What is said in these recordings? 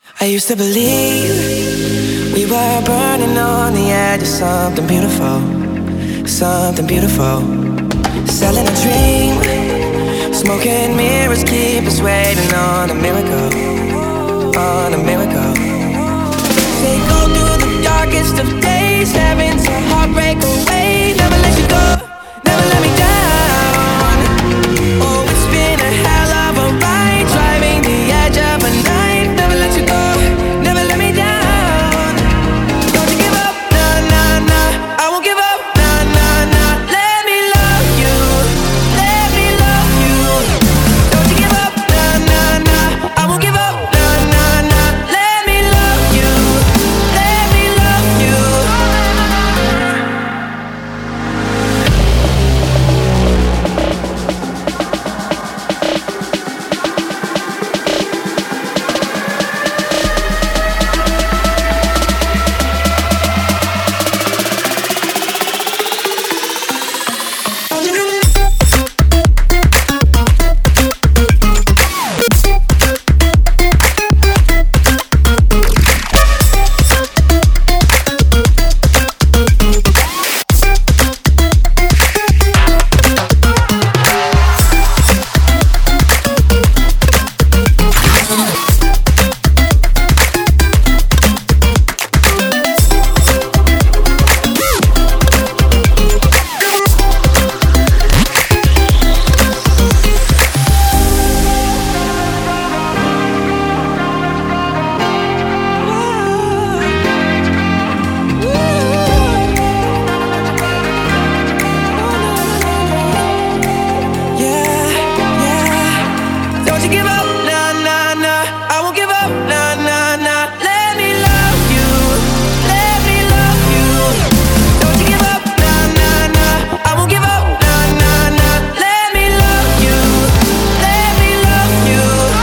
I used to believe we were burning on the edge of something beautiful, something beautiful. Selling a dream, smoking mirrors keep us waiting on a miracle, on a miracle. They go through the darkest of days, having to heartbreak away. Never let you go, never let me down. Oh, it's been a hell of a ride, driving the edge of a night. Never let you go, never let me down. Don't you give up, nah, nah, nah. I won't give up, nah, nah, nah. Let me love you, let me love you. Don't you give up, nah, nah, nah. I won't give up, nah, nah, nah. Let me love you, let me love you. Don't you give up, nah, nah, nah. I won't give up, nah, nah, nah. Let me love you, let me love you. Don't you give up, nah, nah, nah. I won't give up, nah, nah, nah. Let me love you, let me love you.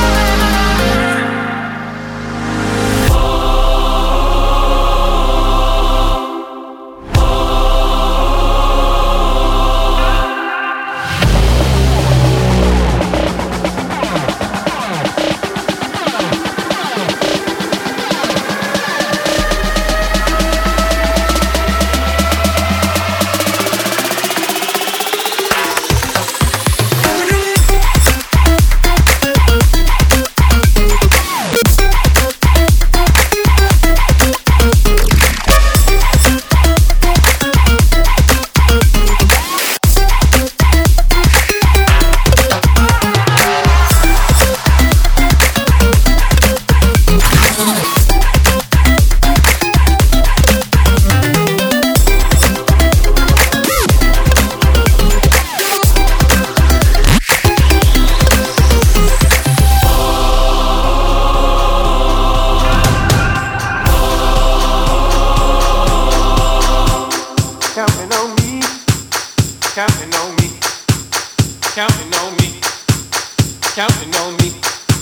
Counting on me, counting on me, counting on me, counting on me.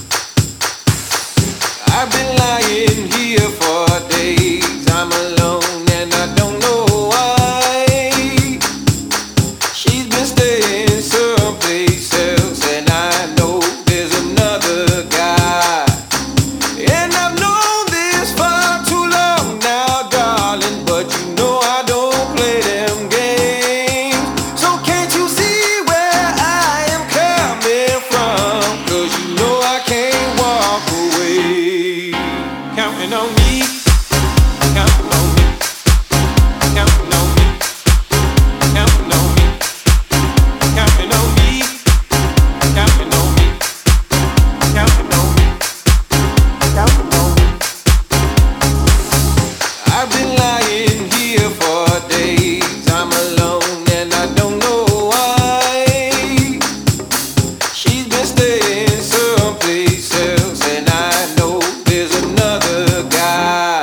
I've been lying here for days. I'm alone and I don't know why. She's been staying someplace else, and I know there's another guy. And I've known this for too long now, darling, but you know I don't play them games. So can't you see where I am coming from? 'Cause you know I can't walk away. Counting on me, counting on me, counting on me, counting on me, counting on me, counting on me, counting on me, counting on me. I've been lying here for days. I'm alone and I don't know why. She's been staying someplace else, and I know there's another guy.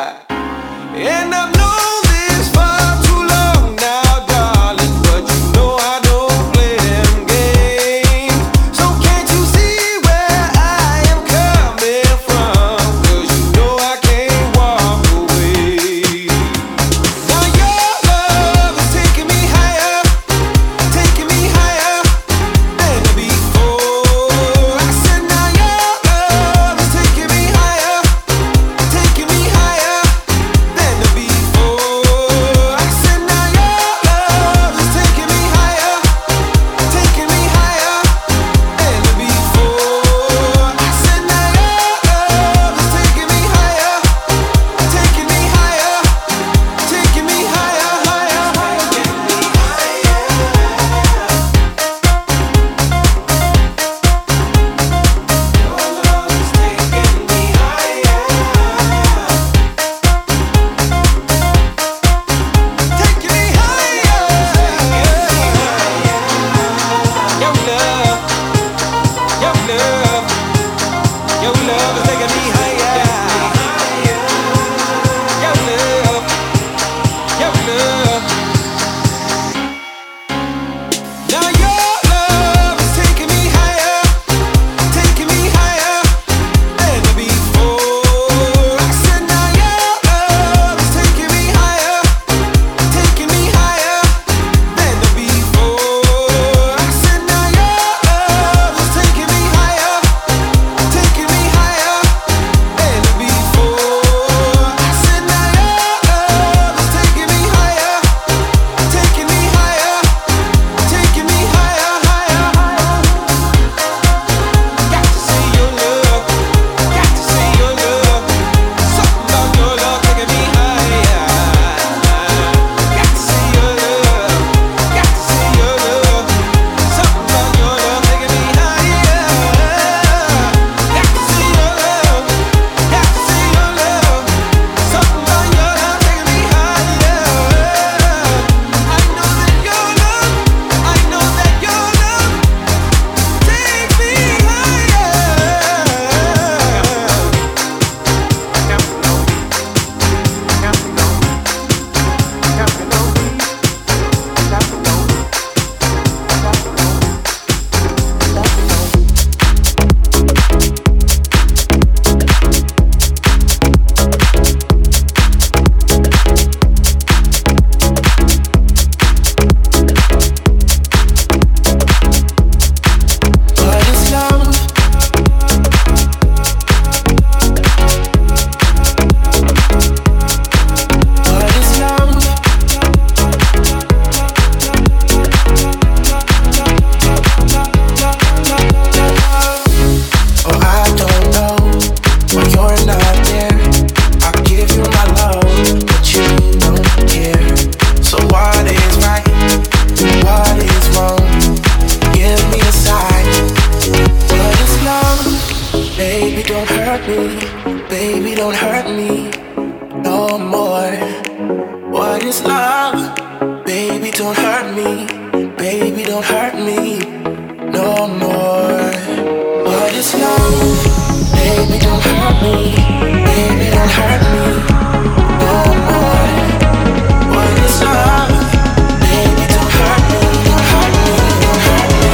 Baby, don't hurt me no more. What is love? Baby, don't hurt me. Baby, don't hurt me no more. What is love? Baby, don't hurt me. Baby, don't hurt me no more. What is love? Baby, don't hurt me. Don't hurt me. Don't hurt me.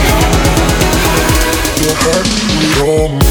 Don't hurt me no more.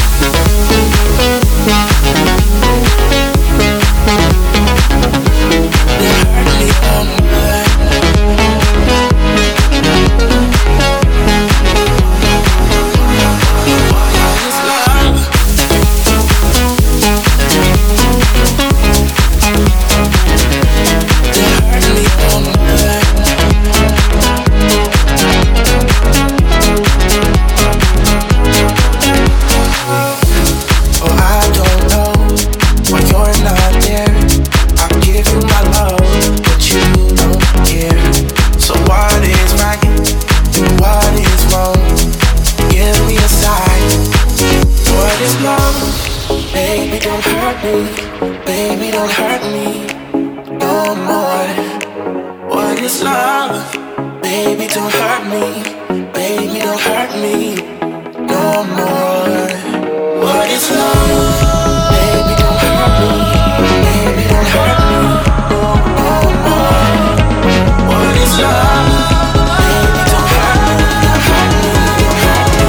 Baby, don't hurt me no more. What is love? Baby, don't hurt me. Baby, don't hurt me no more. What is love? Baby, don't hurt me. Baby, don't hurt me no more. What is love? Baby, don't hurt me. Don't hurt me. Don't hurt me.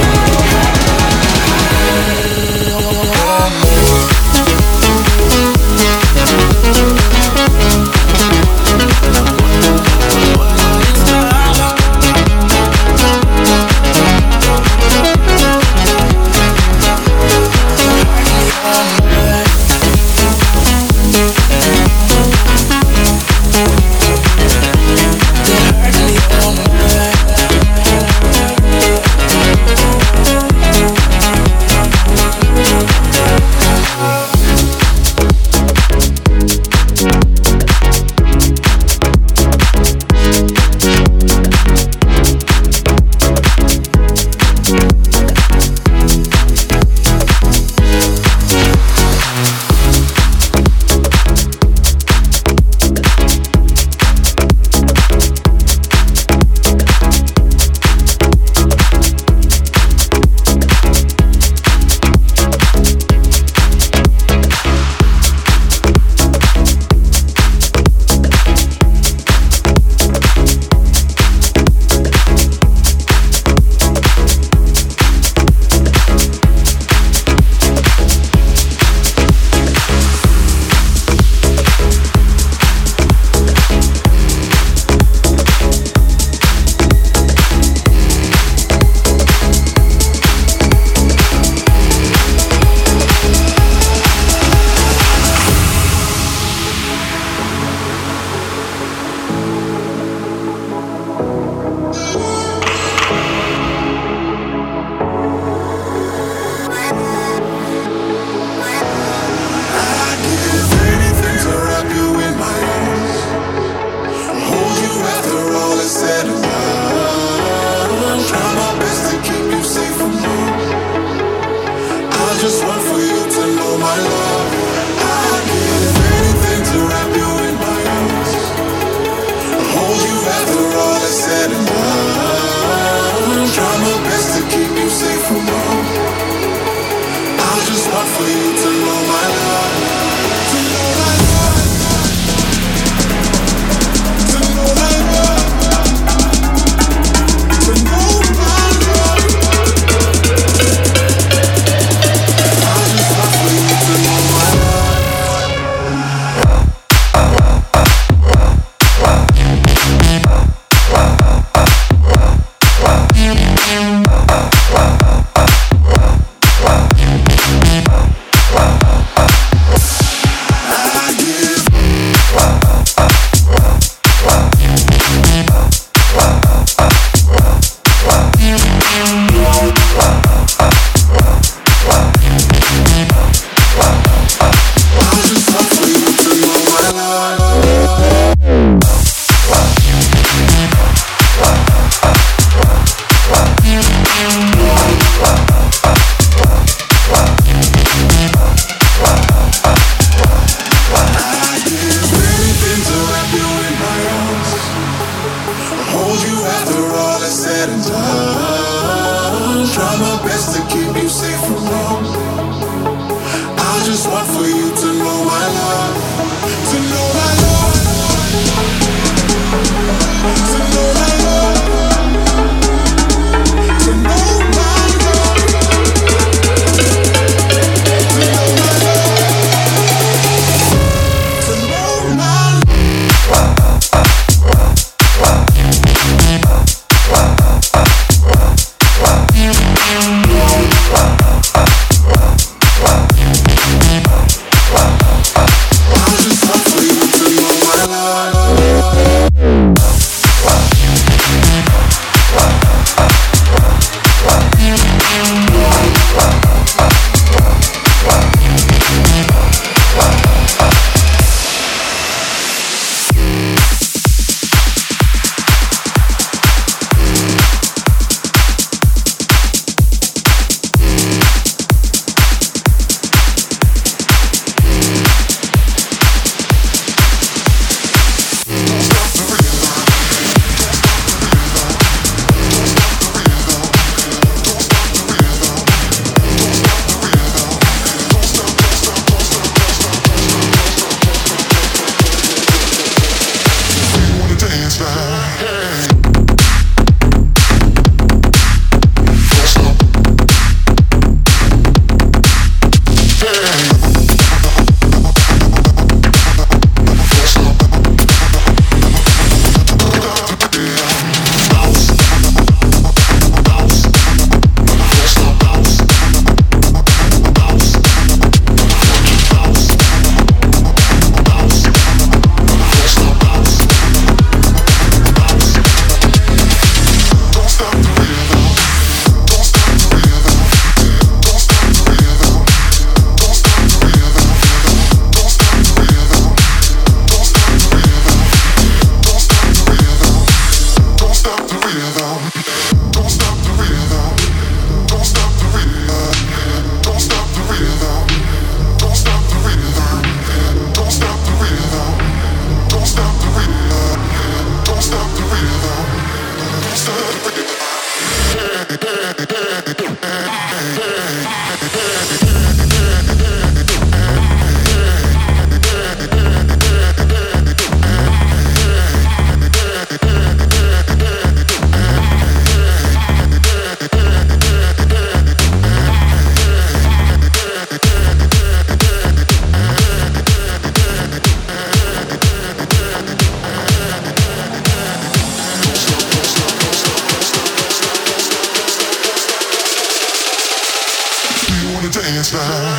Don't hurt me. just want for you to know my love, to know my love, to know my love, to know my love, to know my love, to know my love. Dance now.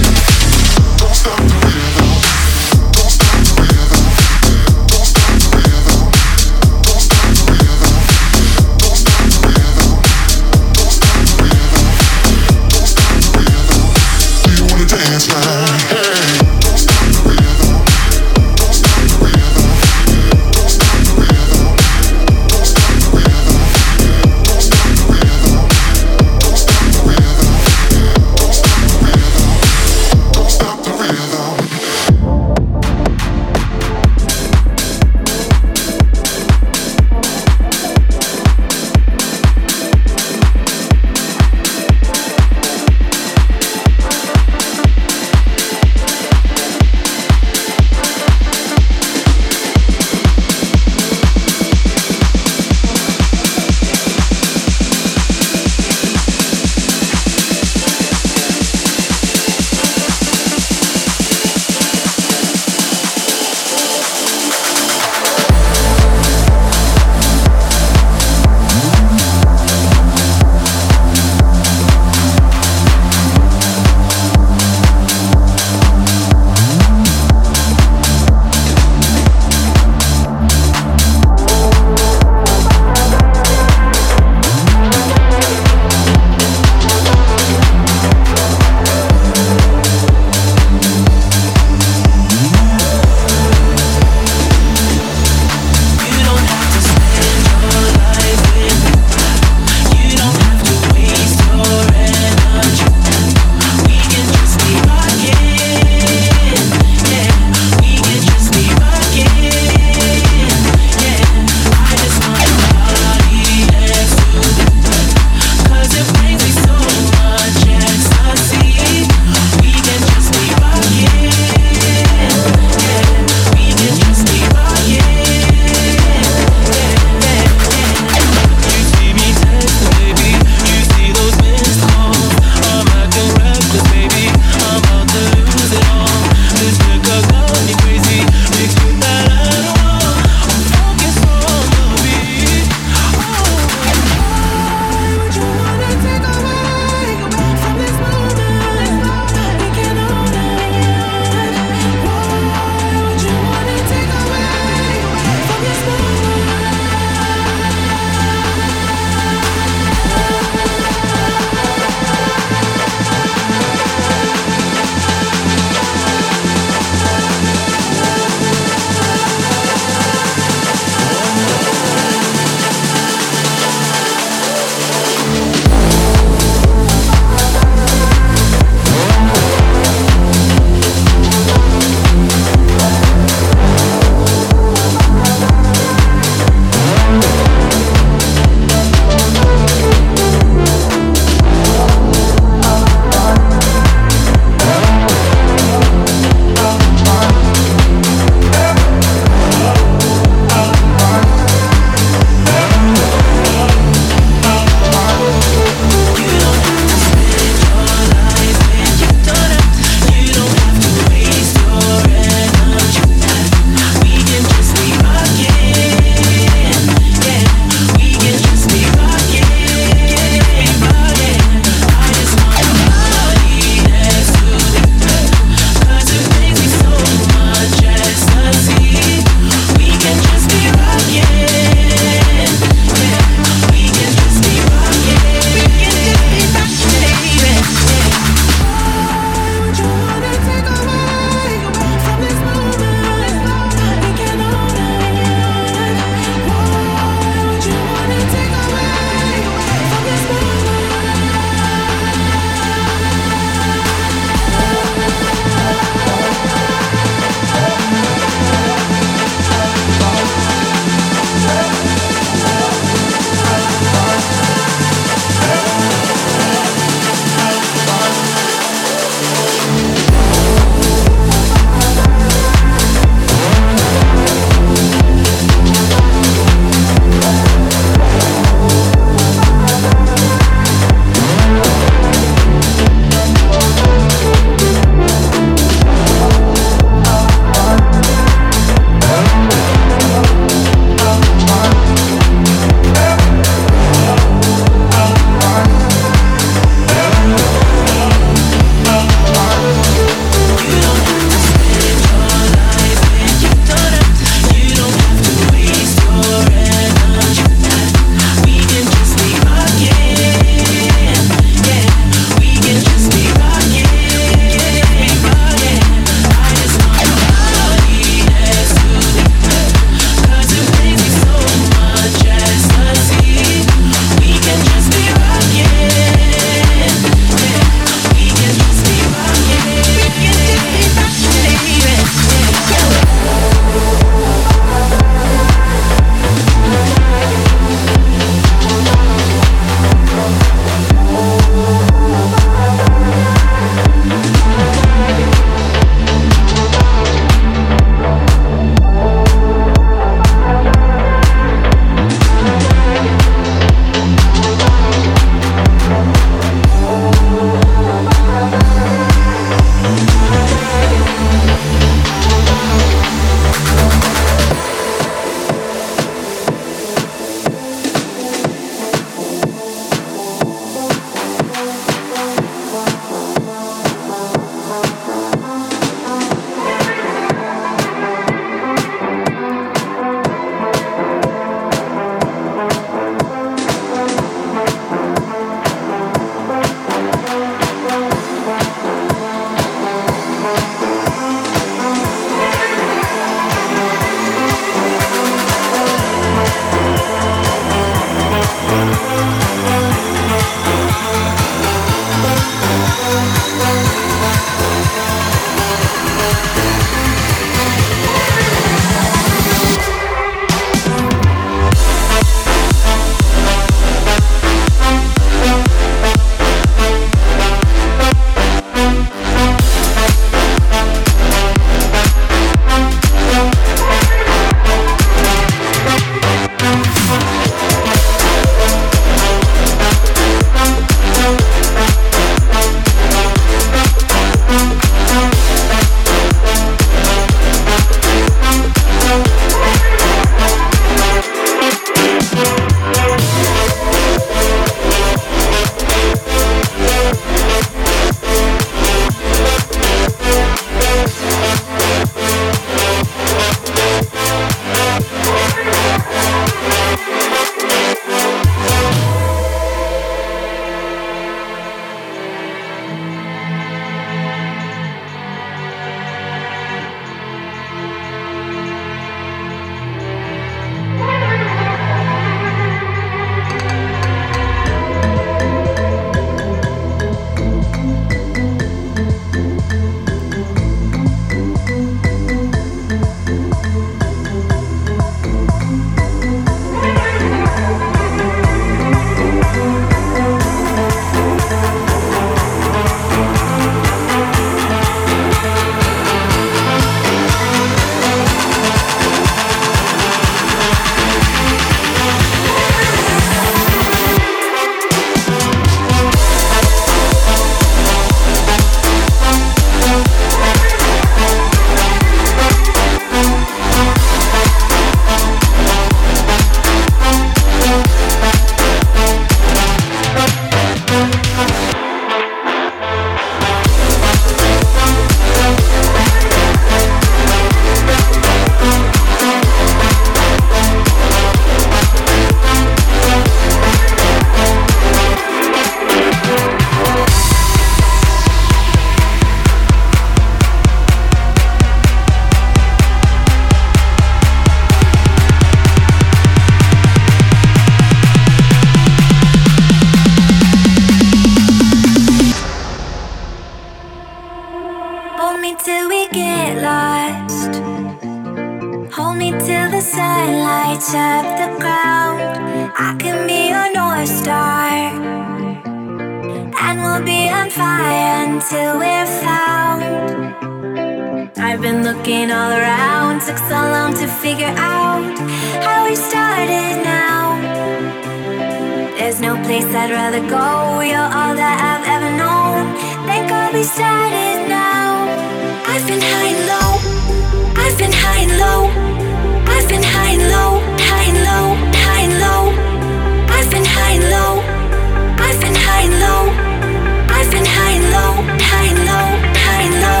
me till we get lost. Hold me till the sun lights up the ground. I can be your North Star, and we'll be on fire until we're found. I've been looking all around, took so long to figure out how we started now. There's no place I'd rather go, you're all that I've ever known. Thank God we started now. I've been high and low, I've been high and low, I've been high and low, high and low, high and low. I've been high and low, I've been high and low, I've been high and low, high and low, high and low.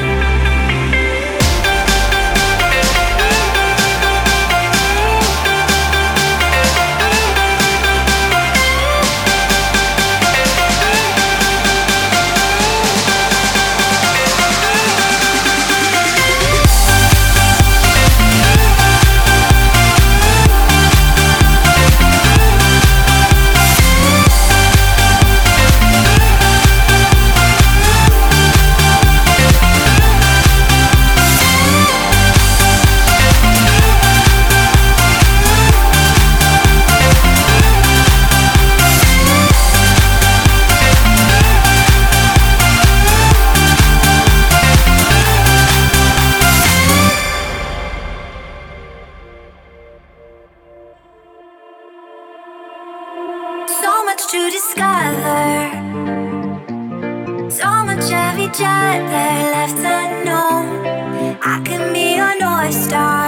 To discover so much of each other left unknown. I can be your North Star,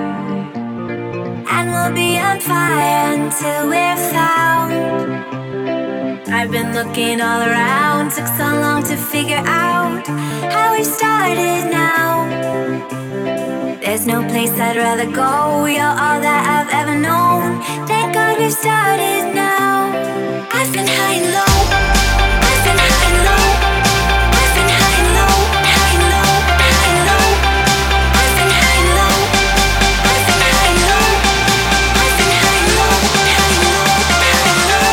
and we'll be on fire until we're found. I've been looking all around, took so long to figure out how we started now. There's no place I'd rather go, you're all that I've ever known. Thank God we started now. I've been high and low, I've been high and low, I've been high and low, high and low, high and low. I've been high and low, I've been high and low, I've been high and low, high and low, high and low.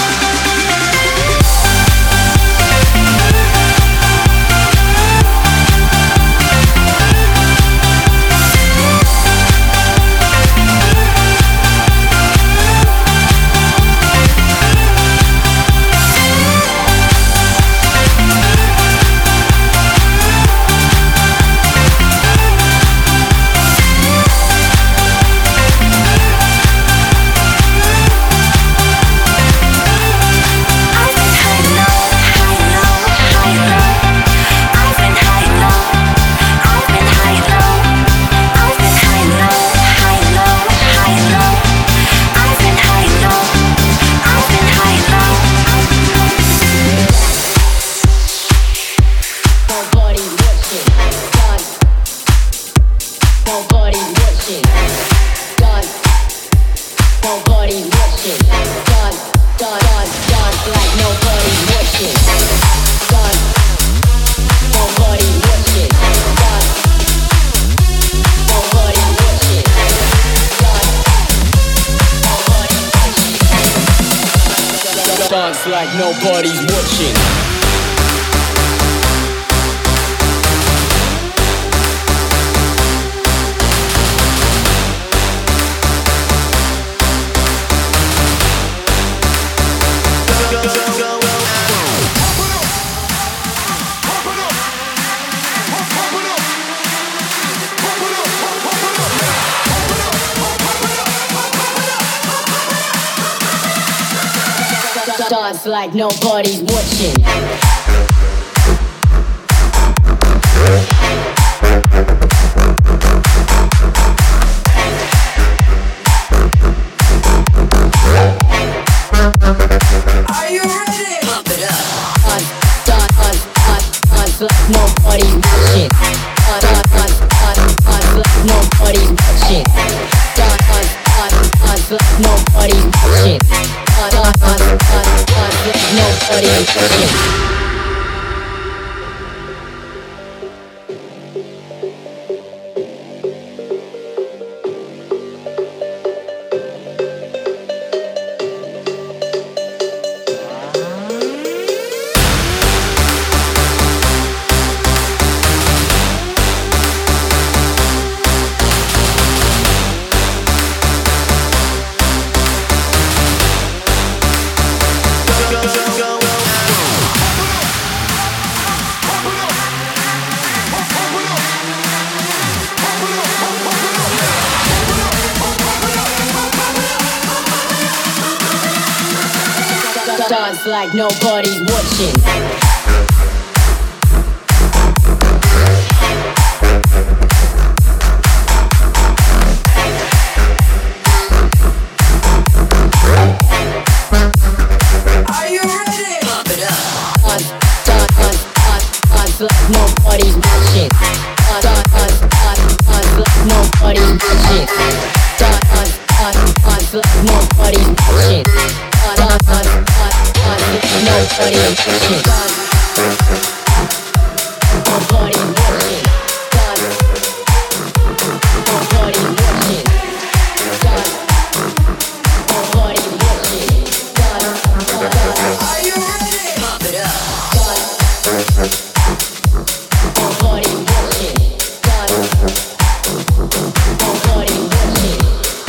Dance like nobody's watching. Dance like nobody's watching. Are you ready? Pump it up. Dance like nobody's watching. Dance like nobody's watching. Dance like nobody's watching. Nobody's watching. Stars like nobody's watching. Like nobody's watching. Nobody's watching. Like nobody's watching. Nobody's watching. Nobody's watching. Nobody's watching. Nobody's watching. Are you ready? Pump it up. Nobody watching. Nobody watching.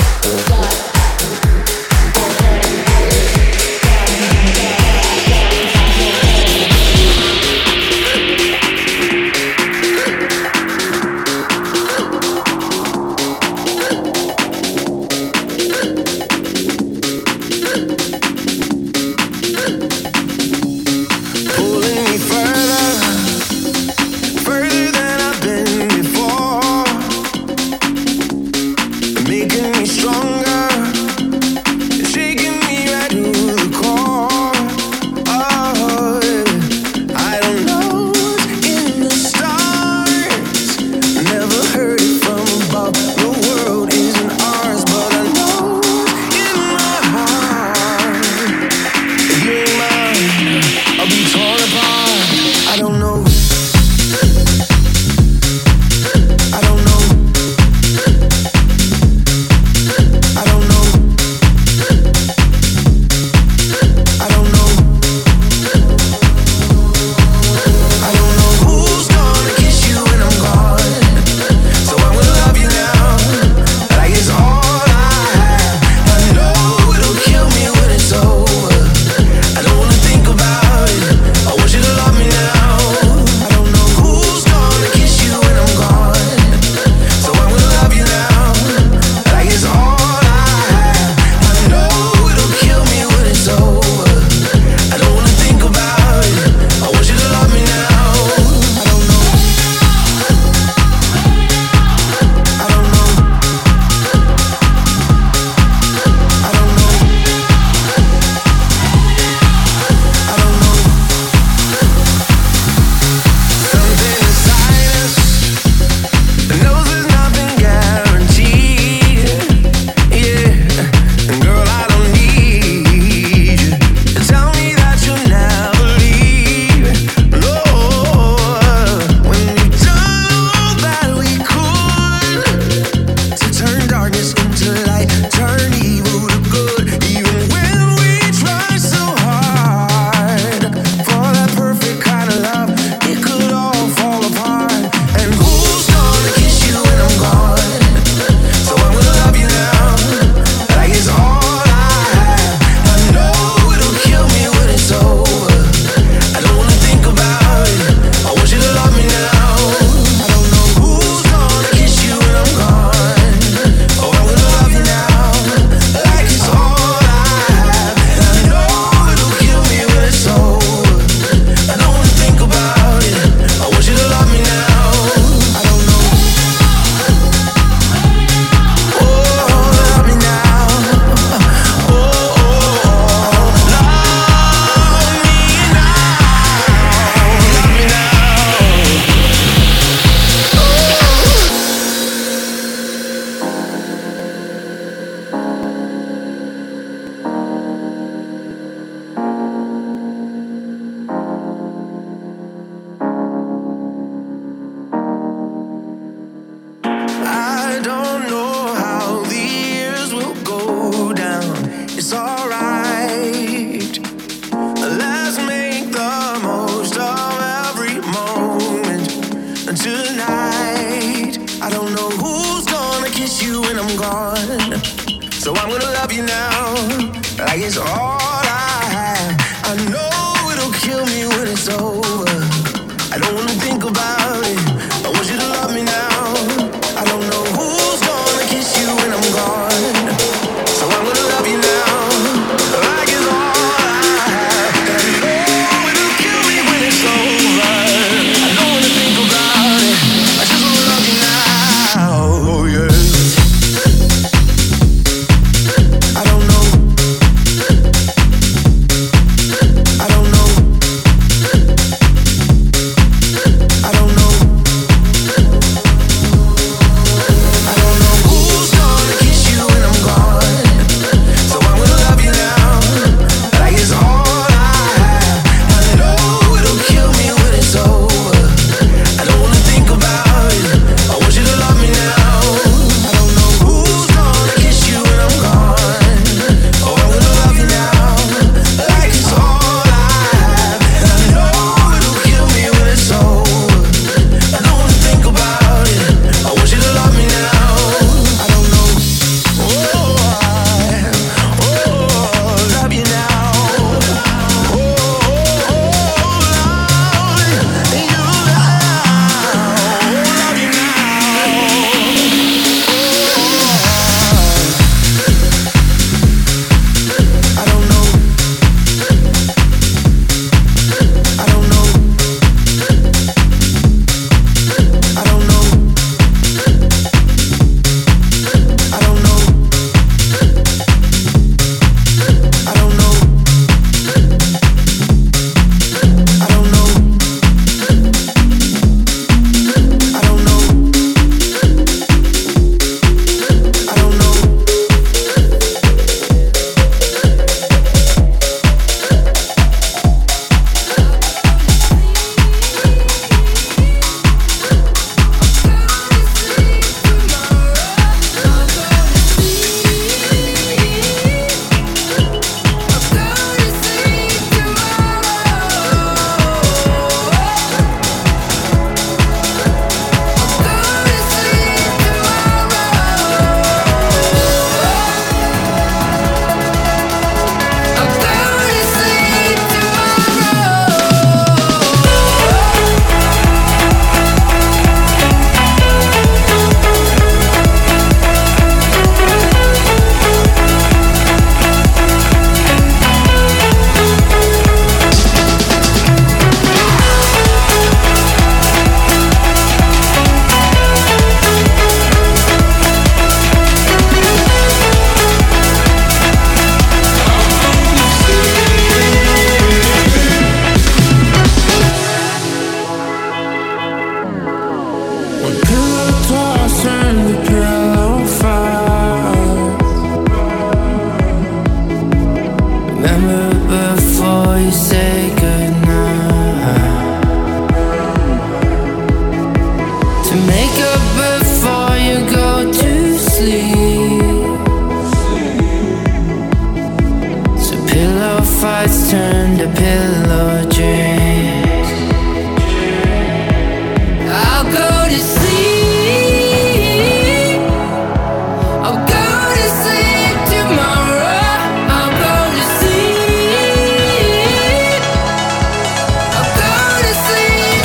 So I'm gonna love you now, like it's all I have. I know it'll kill me when it's over. I don't wanna think about it. I want you to love me now. I don't know who's gonna kiss you when I'm gone. So I'm gonna love you now, like it's all I have. walls turn to pillow fight. Remember before you say goodnight. To make up before you go to sleep. So pillow fights turn to pillow dreams. I'll go to sleep. I'll go to sleep tomorrow. I'll go to sleep. I'll go to sleep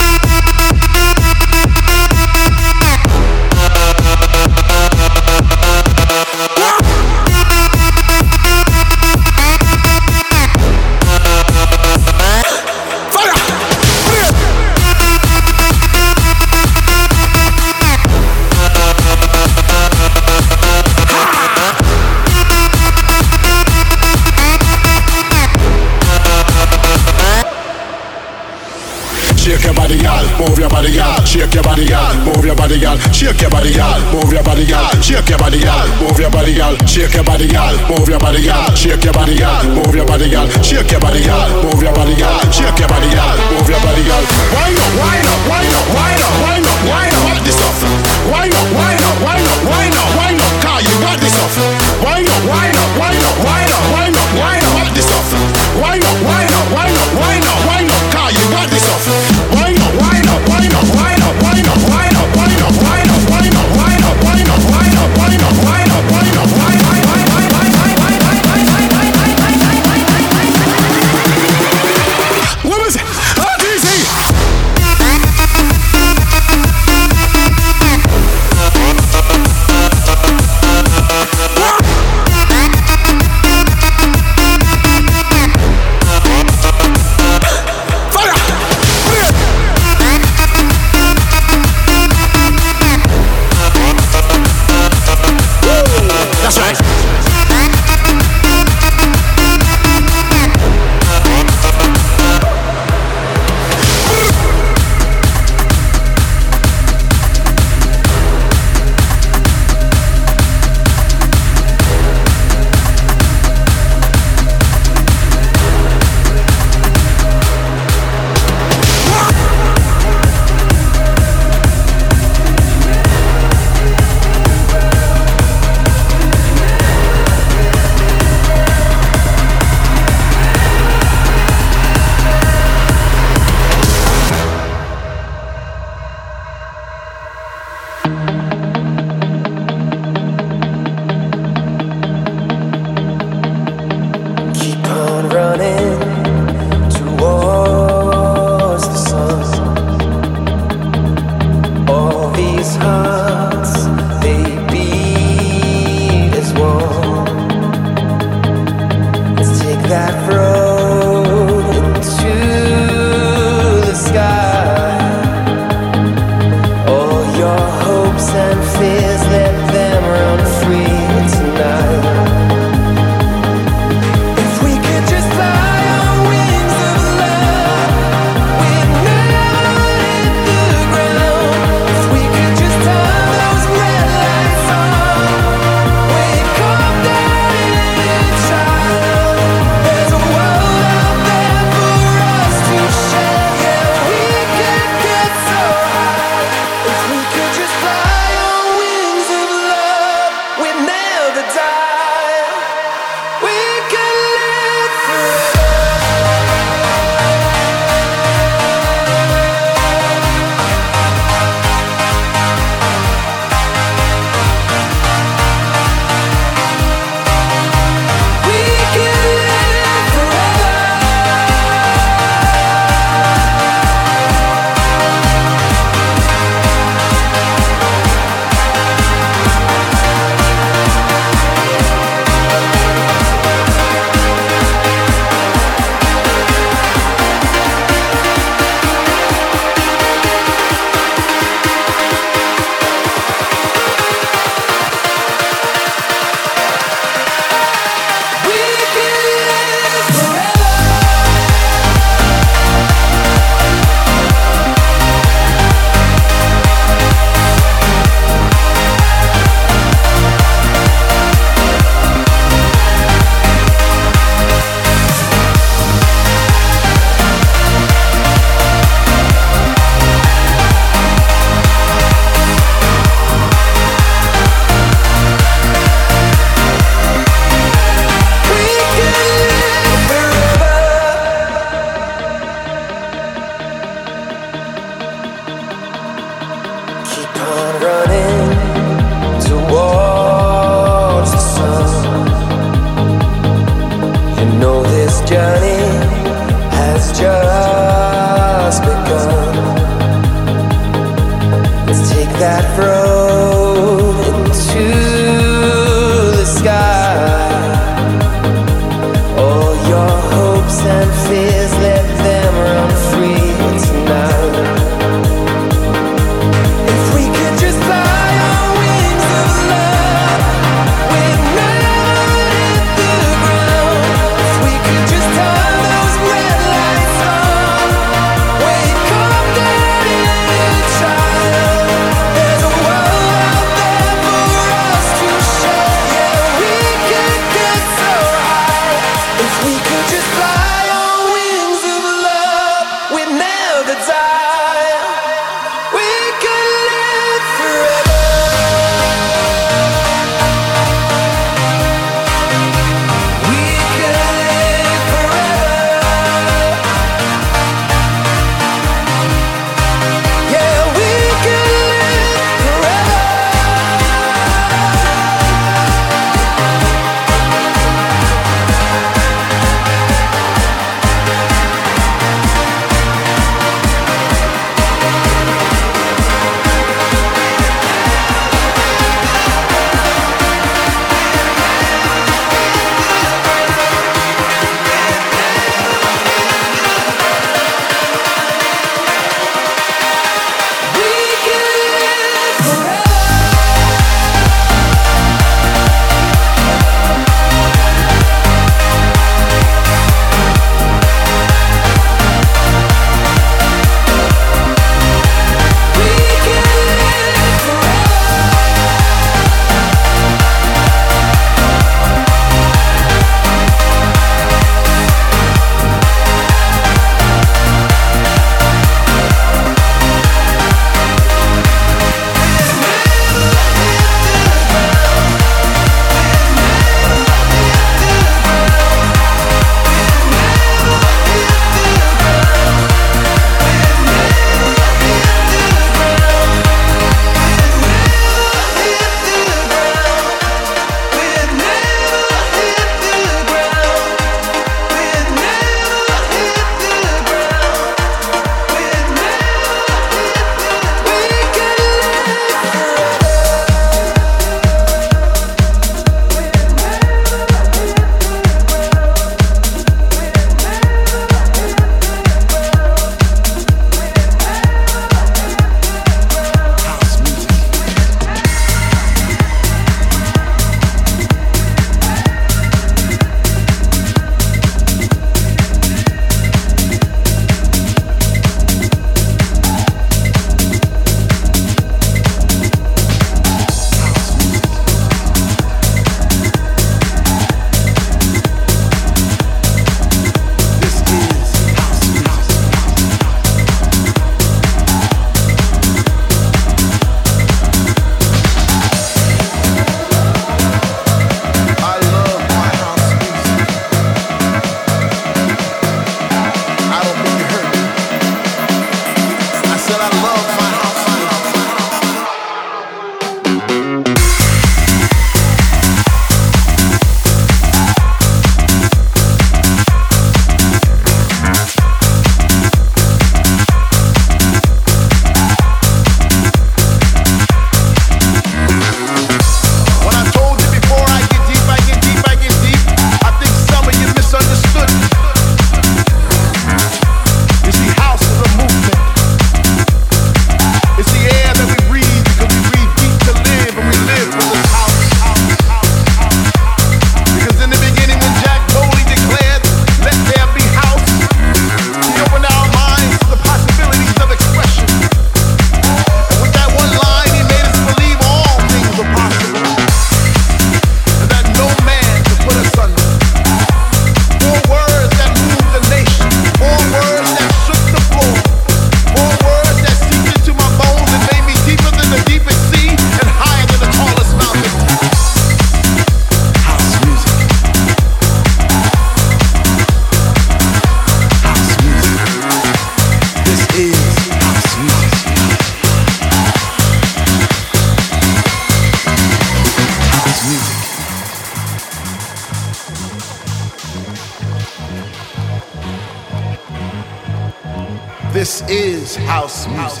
This is house music.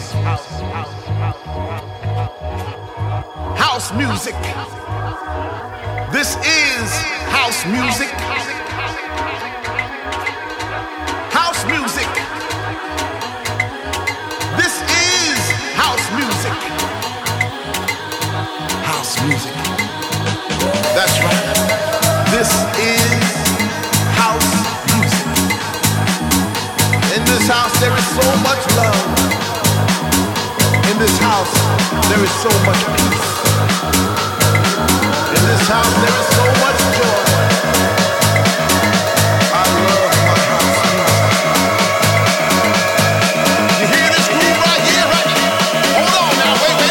House music. This is house music. House music. This is house music. House music. That's right. This is house music. In this house there is so much love. In this house there is so much peace. In this house there is so much joy. I love my house music. You hear this groove right here, right here? Hold on now, wait a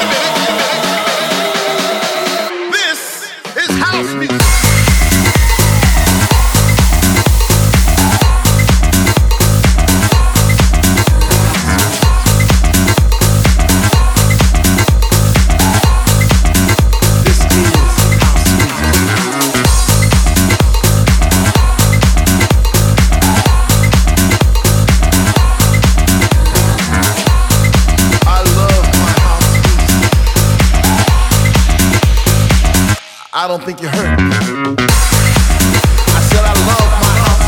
minute. This is house music. I don't think you heard me. I said I love my house.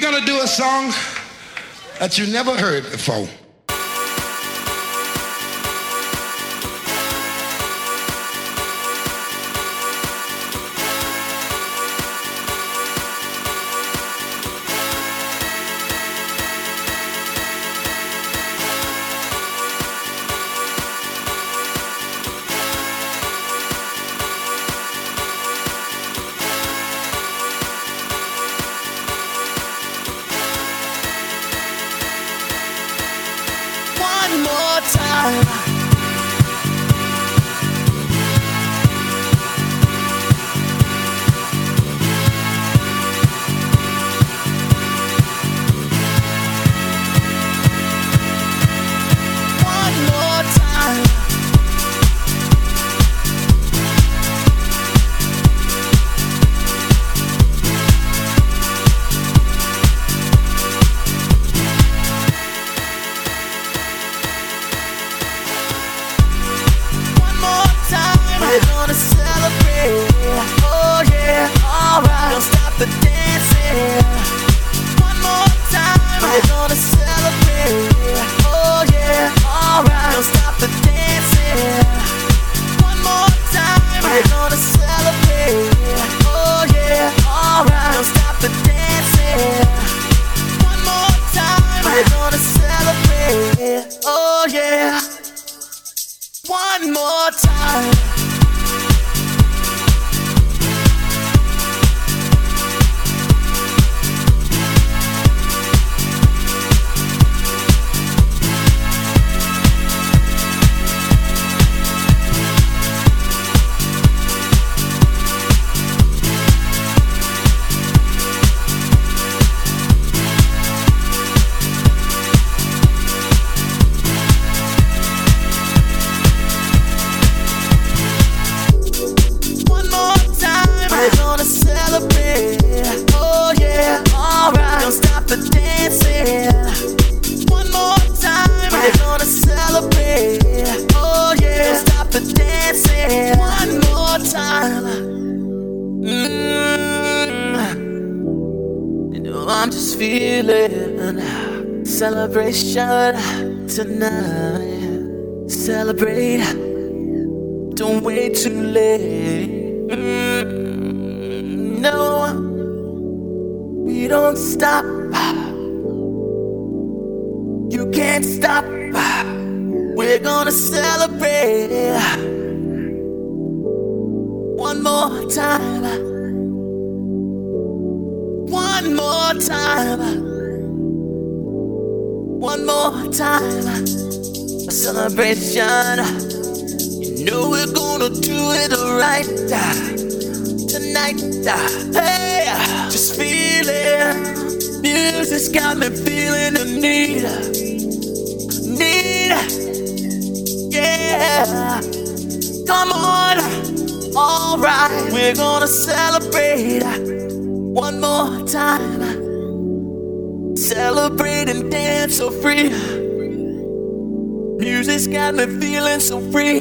gonna do a song that you never heard before. Celebration tonight. Celebrate. Don't wait too late. No, we don't stop. You can't stop. We're gonna celebrate. One more time. One more time. One more time, a celebration. You know we're gonna do it right tonight. Hey, just feel it. Music's got me feeling the need. Yeah. Come on, alright. We're gonna celebrate one more time. Celebrate and dance so free. Music's got me feeling so free.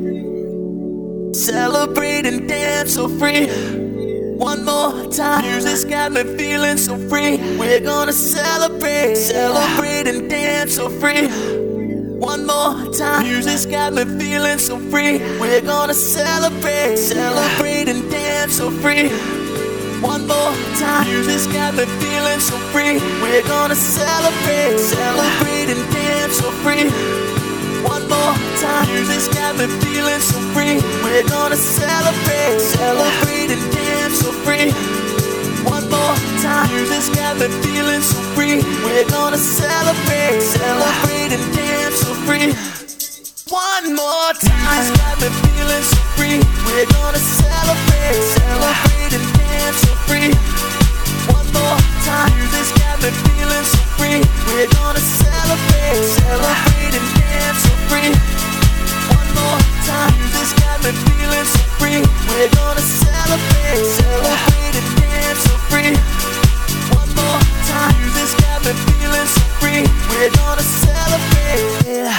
Celebrate and dance so free. One more time. Music's got me feeling so free. We're gonna celebrate. Celebrate and dance so free. One more time. Music's got me feeling so free. We're gonna celebrate. Celebrate and dance so free. One more time. Music's got me feeling so free. We're gonna celebrate. Celebrate and dance so free. One more time. Music's got me feeling so free. We're gonna celebrate. Celebrate and dance so free. One more time. Music's got me feeling so free. We're gonna celebrate. Celebrate and dance so free. One more time. Music's got me feeling so free. We're gonna celebrate. Celebrate and dance so free. One more time. Music's got me feeling so free. We're gonna celebrate. Celebrate and dance so free. One more time. Music's got me feeling so free. We're gonna celebrate. Celebrate and dance so free. One more time. Music's got me feeling so free. We're gonna celebrate.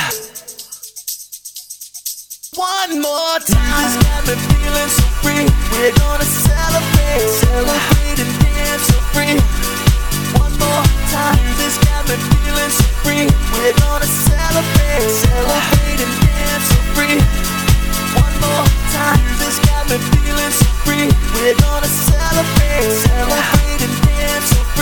One more time. Music's got me feeling so free. We're gonna celebrate. Celebrate and dance so free. One more celebrate and dance so free. One more time, this got me feeling so free. We're gonna celebrate, celebrate and dance so free.